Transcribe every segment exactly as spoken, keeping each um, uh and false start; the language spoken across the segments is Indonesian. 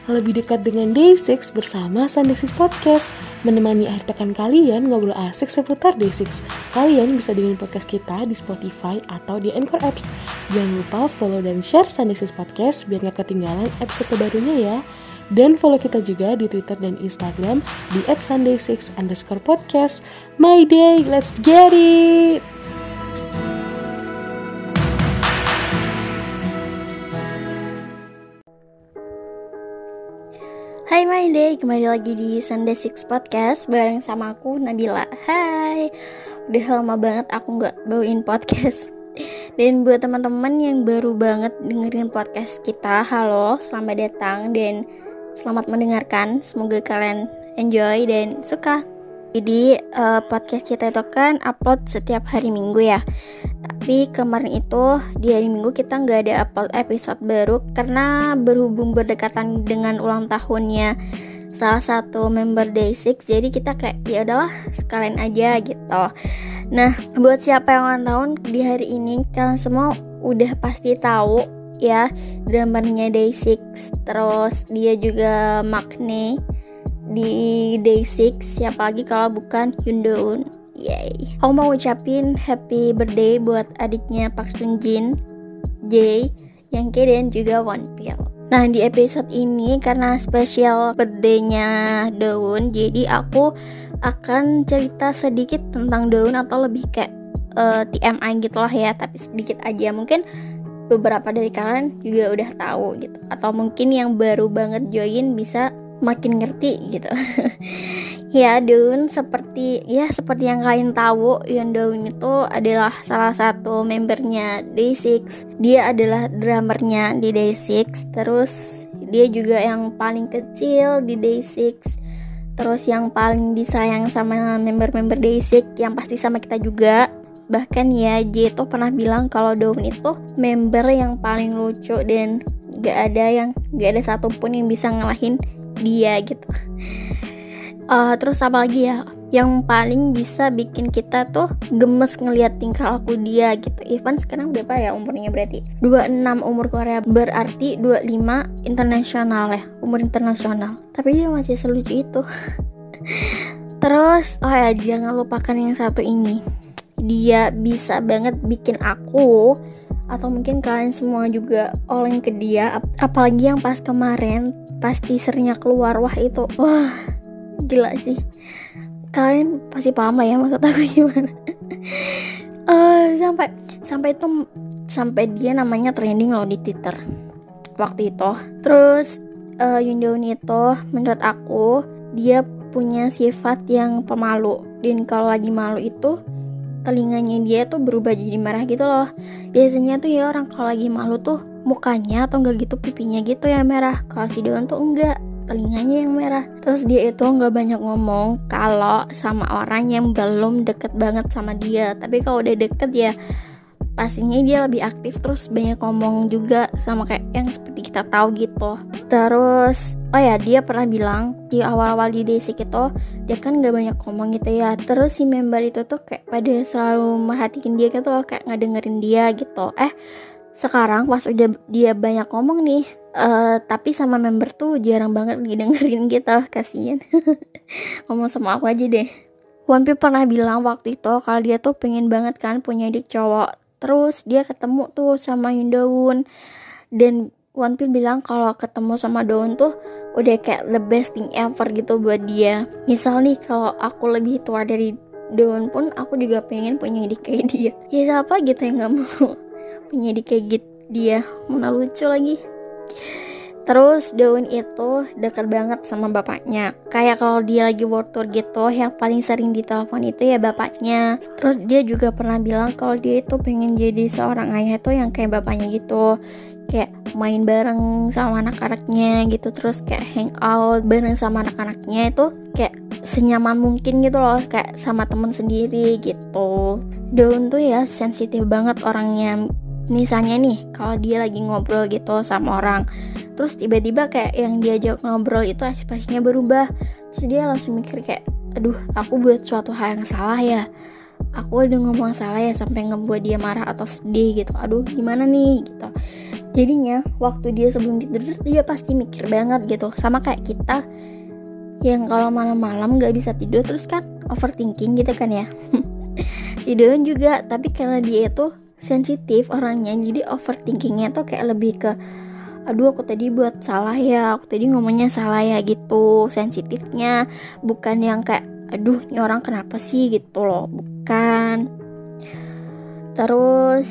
lebih dekat dengan day enam bersama Sunday enam Podcast. Menemani akhir pekan kalian ngobrol asik seputar day enam. Kalian bisa dengerin podcast kita di Spotify atau di Anchor Apps. Jangan lupa follow dan share Sunday enam Podcast biar gak ketinggalan episode terbarunya ya. Dan follow kita juga di Twitter dan Instagram di at sunday enam underscore podcast. My day, let's get it! Hai My Day, kembali lagi di Sunday enam Podcast bareng sama aku, Nabila. Hai, udah lama banget aku gak bawain podcast. Dan buat teman-teman yang baru banget dengerin podcast kita, halo, selamat datang dan selamat mendengarkan. Semoga kalian enjoy dan suka. Jadi uh, podcast kita itu kan upload setiap hari Minggu ya. Tapi kemarin itu di hari Minggu kita gak ada upload episode baru karena berhubung berdekatan dengan ulang tahunnya salah satu member day enam. Jadi kita kayak ya udahlah sekalian aja gitu. Nah, buat siapa yang ulang tahun di hari ini, kalian semua udah pasti tahu ya drummernya day enam. Terus dia juga Maknae di day enam, siapa lagi kalau bukan Hyundoon. Yay. Aku mau ucapin happy birthday buat adiknya Park Sunjin, Jae, Youngke dan juga Wonpil. Nah, di episode ini karena spesial birthday-nya Dowoon, jadi aku akan cerita sedikit tentang Dowoon atau lebih kayak uh, T M I gitu lah ya, tapi sedikit aja. Mungkin beberapa dari kalian juga udah tahu gitu, atau mungkin yang baru banget join bisa makin ngerti gitu. Ya, Dowoon seperti ya seperti yang kalian tahu, Dowoon itu adalah salah satu membernya day enam. Dia adalah drummernya di day enam. Terus dia juga yang paling kecil di day enam. Terus yang paling disayang sama member-member day enam yang pasti sama kita juga. Bahkan ya J itu pernah bilang kalau Dowoon itu member yang paling lucu dan gak ada yang gak ada satupun yang bisa ngalahin dia gitu. Uh, terus apa lagi ya yang paling bisa bikin kita tuh gemes ngelihat tingkah laku dia gitu. Ivan sekarang berapa ya umurnya, berarti dua puluh enam umur Korea, berarti dua puluh lima internasional ya, umur internasional, tapi dia masih selucu itu. Terus oh ya jangan lupakan yang satu ini, dia bisa banget bikin aku atau mungkin kalian semua juga oleng ke dia. Apalagi yang pas kemarin pas teasernya keluar, wah itu wah gila sih. Kalian pasti paham lah ya maksud aku gimana. uh, sampai sampai itu sampai dia namanya trending loh di Twitter waktu itu. Terus uh, Hyundoon itu menurut aku dia punya sifat yang pemalu, dan kalau lagi malu itu telinganya dia tuh berubah jadi merah gitu loh. Biasanya tuh ya orang kalau lagi malu tuh mukanya atau enggak gitu pipinya gitu ya merah. Kalau si Dowoon tuh enggak, telinganya yang merah. Terus dia itu nggak banyak ngomong kalau sama orang yang belum deket banget sama dia, tapi kalau udah deket ya pastinya dia lebih aktif, terus banyak ngomong juga sama kayak yang seperti kita tahu gitu. Terus oh ya dia pernah bilang di awal-awal di day enam itu dia kan nggak banyak ngomong gitu ya, terus si member itu tuh kayak pada selalu merhatiin dia gitu loh, kayak ngedengerin dia gitu. Eh sekarang pas udah dia banyak ngomong nih, uh, tapi sama member tuh jarang banget didengerin gitu, kasian. Ngomong sama aku aja deh. Wonpil pernah bilang waktu itu kalau dia tuh pengen banget kan punya adik cowok. Terus dia ketemu tuh sama Hyundoon, dan Wonpil bilang kalau ketemu sama Dowoon tuh udah kayak the best thing ever gitu buat dia. Misal nih kalau aku lebih tua dari Dowoon pun aku juga pengen punya adik kayak dia. Ya siapa gitu yang gak mau punya adik kayak gitu dia, mana lucu lagi. Terus Dowoon itu dekat banget sama bapaknya. Kayak kalau dia lagi world tour gitu, yang paling sering ditelepon itu ya bapaknya. Terus dia juga pernah bilang kalau dia itu pengen jadi seorang ayah itu yang kayak bapaknya gitu, kayak main bareng sama anak-anaknya gitu, terus kayak hang out bareng sama anak-anaknya itu kayak senyaman mungkin gitu loh, kayak sama temen sendiri gitu. Dowoon tuh ya sensitif banget orangnya. Misalnya nih kalau dia lagi ngobrol gitu sama orang, terus tiba-tiba kayak yang diajak ngobrol itu ekspresinya berubah, terus dia langsung mikir kayak aduh aku buat suatu hal yang salah ya, aku udah ngomong salah ya sampai ngebuat dia marah atau sedih gitu, aduh gimana nih gitu. Jadinya waktu dia sebelum tidur dia pasti mikir banget gitu. Sama kayak kita yang kalau malam-malam gak bisa tidur terus kan overthinking gitu kan ya. Si Daun juga, tapi karena dia itu sensitif orangnya, jadi overthinkingnya tuh kayak lebih ke aduh aku tadi buat salah ya, aku tadi ngomongnya salah ya gitu. Sensitifnya bukan yang kayak aduh ini orang kenapa sih gitu loh, bukan. Terus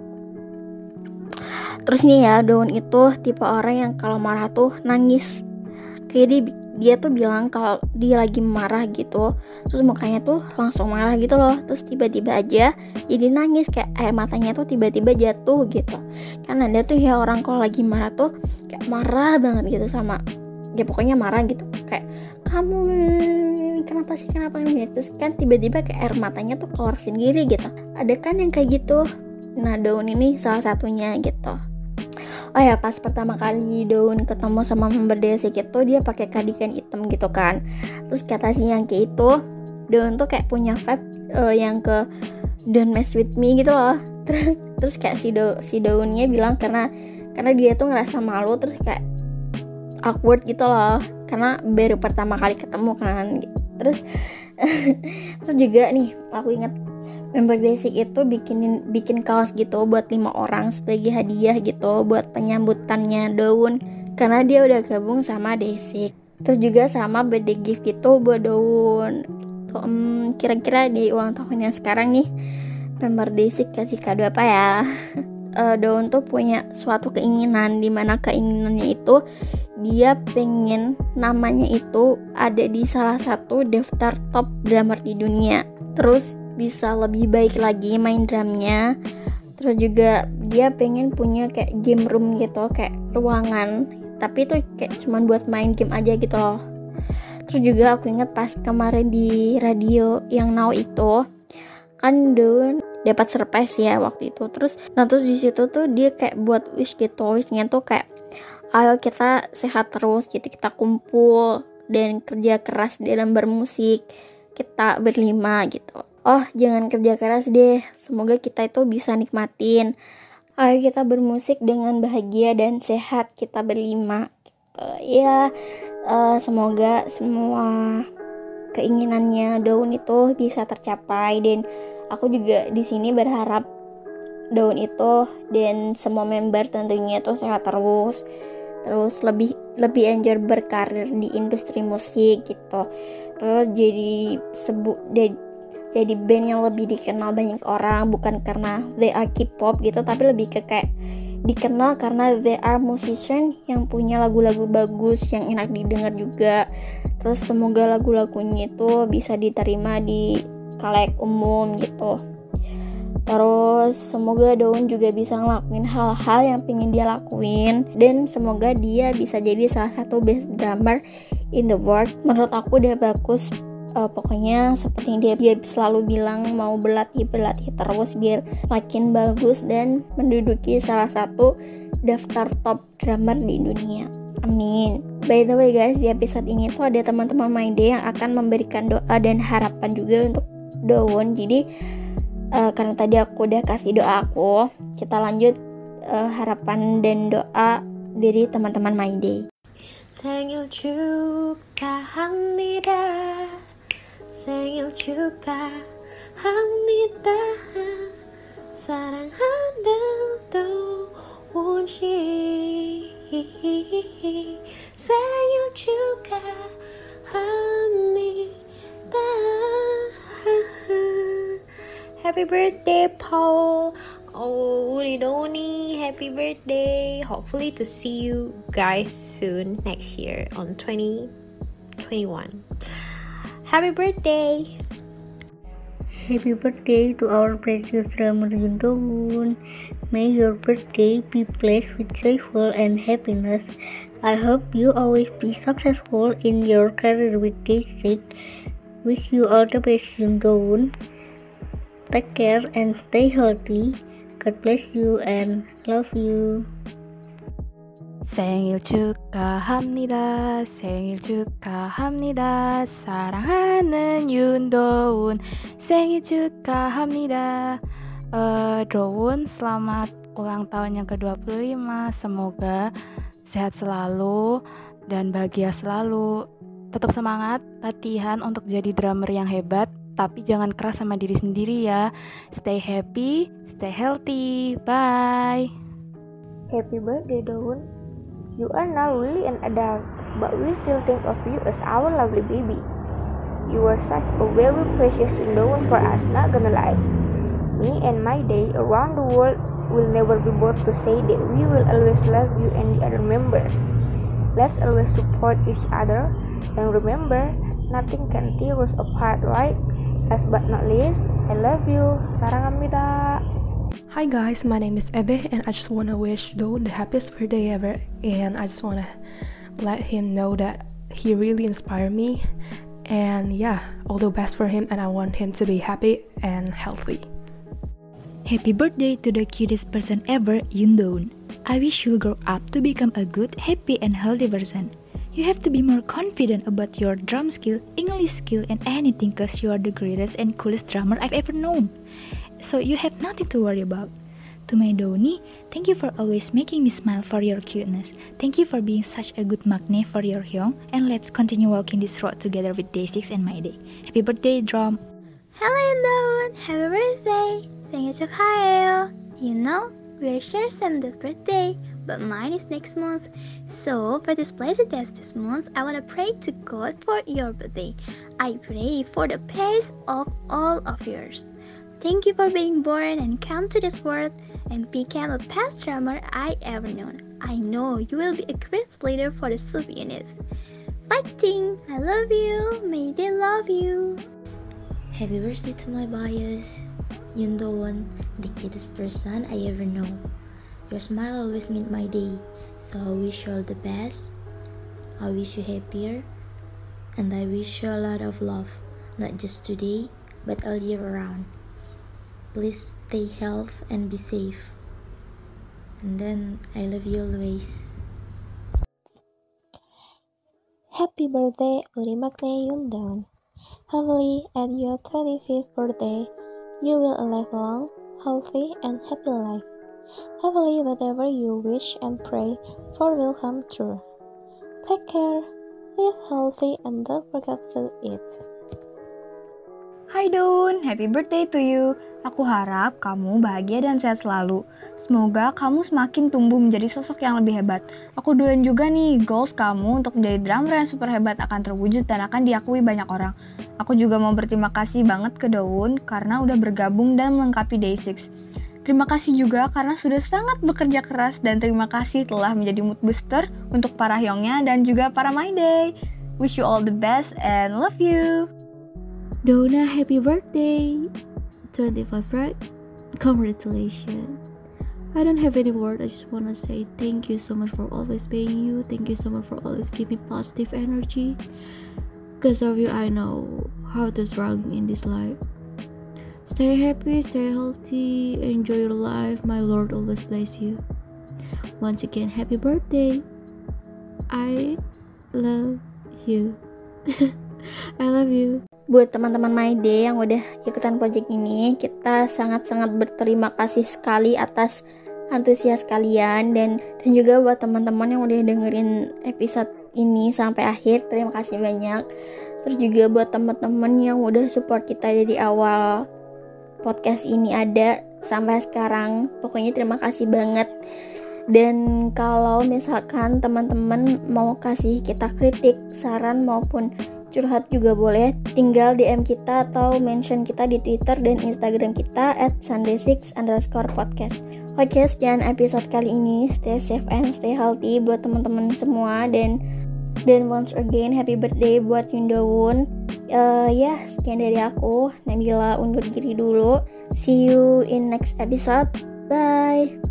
Terus nih ya, Daun itu tipe orang yang kalau marah tuh nangis. Kayak dia, dia tuh bilang kalau dia lagi marah gitu, terus mukanya tuh langsung marah gitu loh. Terus tiba-tiba aja jadi nangis, kayak air matanya tuh tiba-tiba jatuh gitu. Kan ada tuh ya orang kalau lagi marah tuh kayak marah banget gitu sama, ya pokoknya marah gitu. Kayak kamu kenapa sih, kenapa ini? Terus kan tiba-tiba kayak air matanya tuh keluar sendiri gitu. Ada kan yang kayak gitu. Nah Daun ini salah satunya gitu. Oh ya, pas pertama kali Daun ketemu sama member Desik itu dia pakai cardigan hitam gitu kan. Terus kata si Yangki itu Daun tuh kayak punya vibe uh, yang ke don't mess with me gitu loh. Terus terus kayak si Do, si Daunnya bilang karena karena dia tuh ngerasa malu, terus kayak awkward gitu loh karena baru pertama kali ketemu kan. Terus terus juga nih aku ingat member Desik itu bikinin bikin kaos gitu buat lima orang sebagai hadiah gitu buat penyambutannya Daun karena dia udah gabung sama Desik. Terus juga sama birthday gift gitu buat Daun. Tuh, um, kira-kira di ulang tahun yang sekarang nih member Desik kasih kado apa ya? uh, Daun tuh punya suatu keinginan, dimana keinginannya itu dia pengen namanya itu ada di salah satu daftar top drummer di dunia. Terus bisa lebih baik lagi main drumnya. Terus juga dia pengen punya kayak game room gitu, kayak ruangan, tapi itu kayak cuman buat main game aja gitu loh. Terus juga aku ingat pas kemarin di radio yang Now itu kan Daun dapat surprise ya waktu itu. Terus nah terus di situ tuh dia kayak buat wish gitu, wishnya tuh kayak ayo kita sehat terus, jadi kita kumpul dan kerja keras dalam bermusik kita berlima gitu. Oh jangan kerja keras deh, semoga kita itu bisa nikmatin. Ayo kita bermusik dengan bahagia dan sehat kita berlima gitu. Ya uh, semoga semua keinginannya Daun itu bisa tercapai, dan aku juga di sini berharap Daun itu dan semua member tentunya itu sehat terus, terus lebih lebih enjoy berkarir di industri musik gitu. Terus jadi sebut jadi band yang lebih dikenal banyak orang, bukan karena they are K-pop gitu, tapi lebih ke kayak dikenal karena they are musician yang punya lagu-lagu bagus yang enak didengar juga. Terus semoga lagu-lagunya itu bisa diterima di khalayak umum gitu. Terus semoga Daun juga bisa ngelakuin hal-hal yang pengen dia lakuin, dan semoga dia bisa jadi salah satu best drummer in the world. Menurut aku udah bagus. Uh, pokoknya seperti dia dia selalu bilang mau berlatih berlatih terus biar makin bagus dan menduduki salah satu daftar top drummer di dunia. Amin. By the way guys, di episode ini tuh ada teman-teman My Day yang akan memberikan doa dan harapan juga untuk Daun. Jadi uh, karena tadi aku udah kasih doa aku, kita lanjut uh, harapan dan doa dari teman-teman My Day. 생일 축하합니다. 생일 축하합니다. 사랑하는 도훈 씨. 생일 축하합니다. Happy birthday, Paul. Oh, Ridoni, happy birthday. Hopefully to see you guys soon next year on twenty twenty-one. Happy birthday. Happy birthday to our precious drummer Daun. May your birthday be blessed with joyful and happiness. I hope you always be successful in your career with Desik. Wish you all the best, Daun. Take care and stay healthy. God bless you and love you. 생일 축하합니다. 생일 축하합니다. 사랑하는 윤도훈. 생일 축하합니다. Uh, Daun, selamat ulang tahun yang ke dua puluh lima. Semoga sehat selalu dan bahagia selalu. Tetap semangat latihan untuk jadi drummer yang hebat, tapi jangan keras sama diri sendiri ya. Stay happy, stay healthy. Bye. Happy birthday, Daun. You are now really an adult, but we still think of you as our lovely baby. You are such a very precious Daun for us, not gonna lie. Me and my day around the world will never be bored to say that we will always love you and the other members. Let's always support each other, and remember, nothing can tear us apart, right? Last but not least, I love you. Sarangamnida. Hi guys, my name is Ebe, and I just want to wish Daun the happiest birthday ever, and I just want to let him know that he really inspired me, and yeah, all the best for him, and I want him to be happy and healthy. Happy birthday to the cutest person ever, Yundoon. I wish you'll grow up to become a good, happy, and healthy person. You have to be more confident about your drum skill, English skill, and anything cause you are the greatest and coolest drummer I've ever known. So you have nothing to worry about. To my Doni, thank you for always making me smile for your cuteness. Thank you for being such a good magnet for your Hyung, and let's continue walking this road together with Day six and my day. Happy birthday, drum! Hello Daun, happy birthday! 생일 축하해요. You know, we're sure Sam's birthday, but mine is next month. So for this blessed day this month, I wanna pray to God for your birthday. I pray for the peace of all of yours. Thank you for being born and come to this world and become a best drummer I ever known. I know you will be a great leader for the sub unit. Fighting! I love you. May they love you. Happy birthday to my bias, Yundoon, the cutest person I ever know. Your smile always made my day, so I wish you all the best. I wish you happier, and I wish you a lot of love, not just today, but all year around. Please stay healthy and be safe. And then, I love you always. Happy birthday, Uri Magne Yundoon. Hopefully, at your twenty-fifth birthday, you will live a long, healthy, and happy life. Hopefully, whatever you wish and pray for will come true. Take care, live healthy, and don't forget to eat. Hai Daun, happy birthday to you. Aku harap kamu bahagia dan sehat selalu. Semoga kamu semakin tumbuh menjadi sosok yang lebih hebat. Aku doain juga nih, goals kamu untuk menjadi drummer yang super hebat akan terwujud dan akan diakui banyak orang. Aku juga mau berterima kasih banget ke Daun karena udah bergabung dan melengkapi Day six. Terima kasih juga karena sudah sangat bekerja keras, dan terima kasih telah menjadi mood booster untuk para Hyungnya dan juga para My Day. Wish you all the best and love you. Dona, happy birthday! twenty-five, right? Congratulations. I don't have any word. I just want to say thank you so much for always being you. Thank you so much for always giving positive energy. Because of you, I know how to struggle in this life. Stay happy, stay healthy, enjoy your life. My Lord always bless you. Once again, happy birthday. I love you. I love you. Buat teman-teman My Day yang udah ikutan project ini, kita sangat-sangat berterima kasih sekali atas antusias kalian, dan dan juga buat teman-teman yang udah dengerin episode ini sampai akhir, terima kasih banyak. Terus juga buat teman-teman yang udah support kita dari awal podcast ini ada sampai sekarang, pokoknya terima kasih banget. Dan kalau misalkan teman-teman mau kasih kita kritik, saran maupun curhat juga boleh, tinggal D M kita atau mention kita di Twitter dan Instagram kita at sunday six underscore podcast. Oke, sekian episode kali ini. Stay safe and stay healthy buat teman-teman semua, dan dan once again happy birthday buat Yundoon. Uh, ya, sekian dari aku, Nabila undur diri dulu. See you in next episode. Bye.